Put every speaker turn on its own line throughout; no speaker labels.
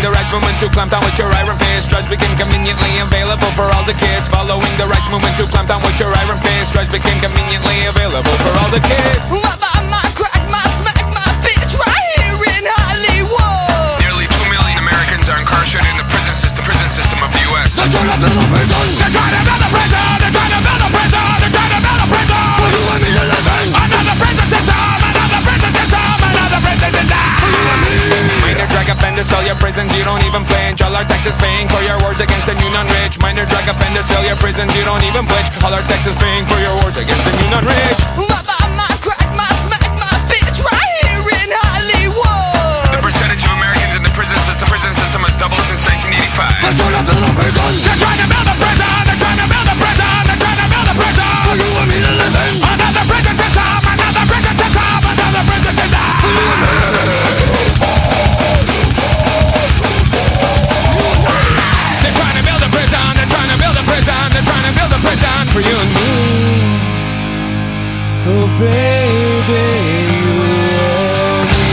the rights movement to clamp down with your iron fist. Drugs became conveniently available for all the kids. Following the rights movement to clamp down with your iron fist. Drugs became conveniently available for all the kids.
My crack, my smack, my bitch right here in Hollywood.
Nearly 2 million Americans are incarcerated in the prison system of the U.S.
They're trying to build a prison.
They're trying to build a prison. They're trying to build a prison. They're trying to build a prison
For you and me to live in.
Another prison system. Another prison system. Another prison system.
For you and me.
Minor drug offenders fill your prisons, you don't even flinch. All our taxes paying for your wars against the new non-rich. Minor drug offenders fill your prisons, you don't even flinch. All our taxes paying for your wars against the new non-rich.
My crack, my smack, my bitch right here in Hollywood.
The percentage of Americans in the prison system has doubled since 1985.
They're trying to build a prison.
They're trying to build a prison. They're trying to build a prison. They're trying to build a prison
For you and me to live in.
Another prison system. Another prison system. Another prison system.
For you and me.
They're trying to build a prison. They're trying to build a prison. They're trying to build a prison for you and me. Oh baby, you and me.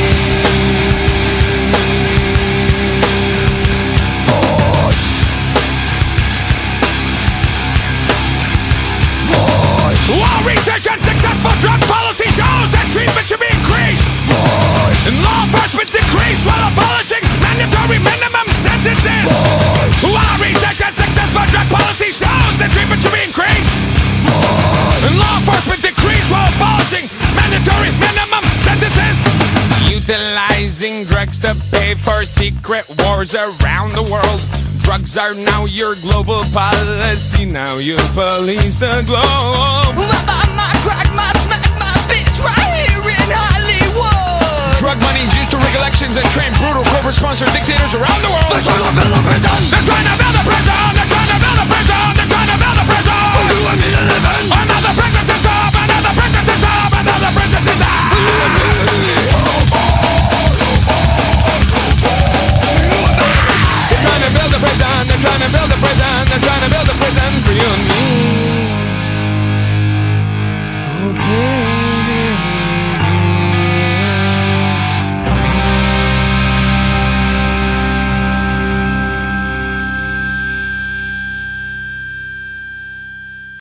While research and successful drug policy shows that treatment should be increased, and law enforcement decreased while abolishing mandatory minimum sentences. While research and successful drug policy shows that treatment should be increased, and law enforcement decreased while abolishing mandatory minimum sentences. Utilizing drugs to pay for secret wars around the world. Drugs are now your global policy. Now you police the globe.
My crack, my smack, my bitch right here in Hollywood.
Drug money is used to rig elections and train brutal corporate-sponsored dictators around the world.
They're trying to build a prison.
They're trying to build a prison. They're trying to build a prison. They're trying to build a prison
For you and me to live in.
Another prison system. Another prison system. Another prison system.
For you and me.